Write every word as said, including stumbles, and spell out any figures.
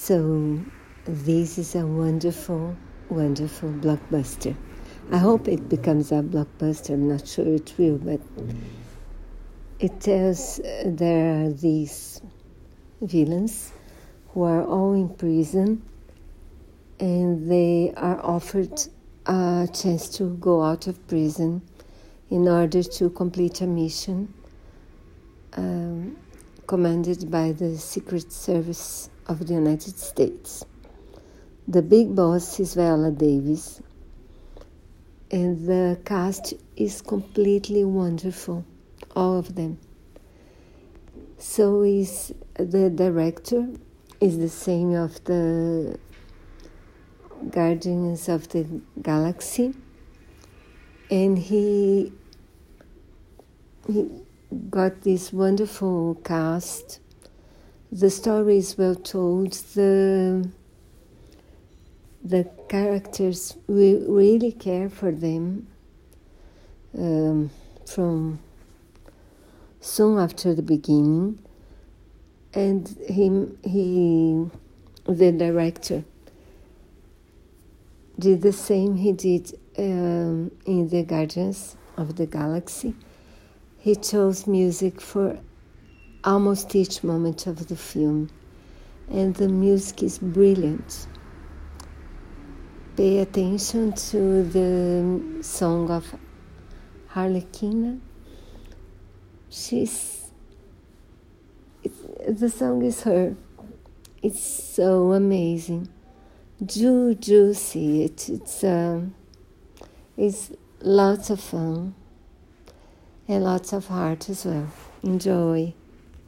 So this is a wonderful, wonderful blockbuster. I hope it becomes a blockbuster. I'm not sure it will, but it tells uh, there are these villains who are all in prison, and they are offered a chance to go out of prison in order to complete a mission um, commanded by the Secret Service of the United States. The big boss is Viola Davis, and the cast is completely wonderful, all of them. So is the director is the same of the Guardians of the Galaxy, and he he got this wonderful cast. The story is well told. The the characters, we really care for them um, from soon after the beginning, and him he the director did the same he did um, in the Guardians of the Galaxy. He chose music for almost each moment of the film, and the music is brilliant. Pay attention to the song of Harlequina. She's, it's, the song is her. It's so amazing. Do, do see it. It's, um, it's lots of fun and lots of heart as well. Enjoy.